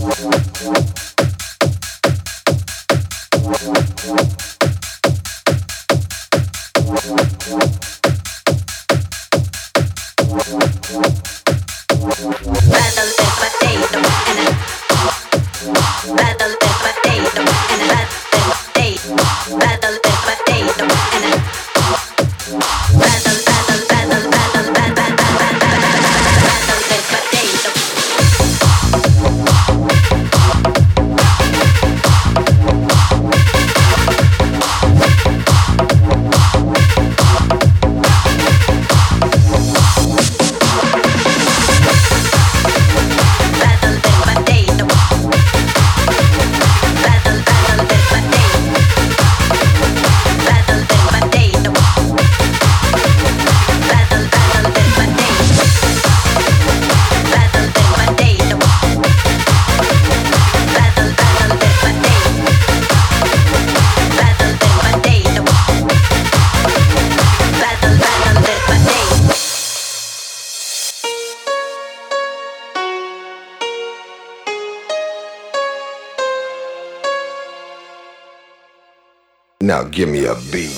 Now give me a beat.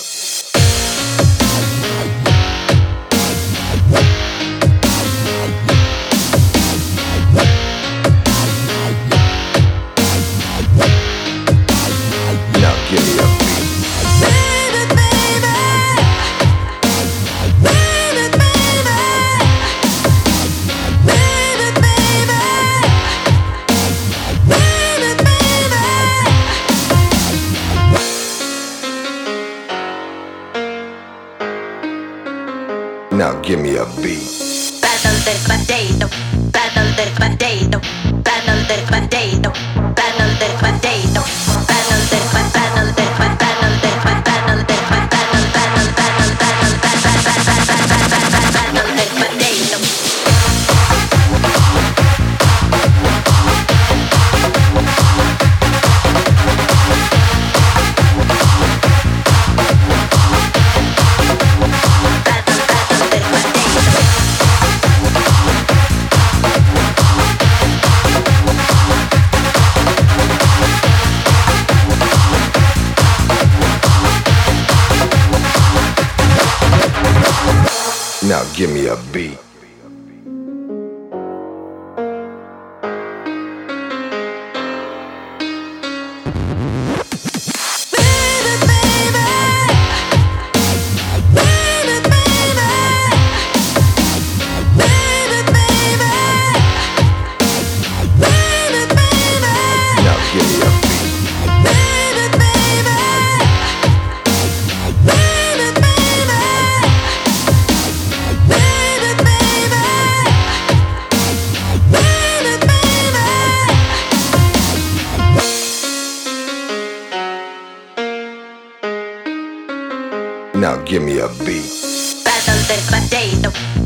Now give me a beat. Now give me a beat. Battle del potato, battle del potato, battle del potato, battle del potato, battle del battle del battle del battle del battle del potato. Now give me a beat. Now give me a beat. Now give me a beat. Battle del potato.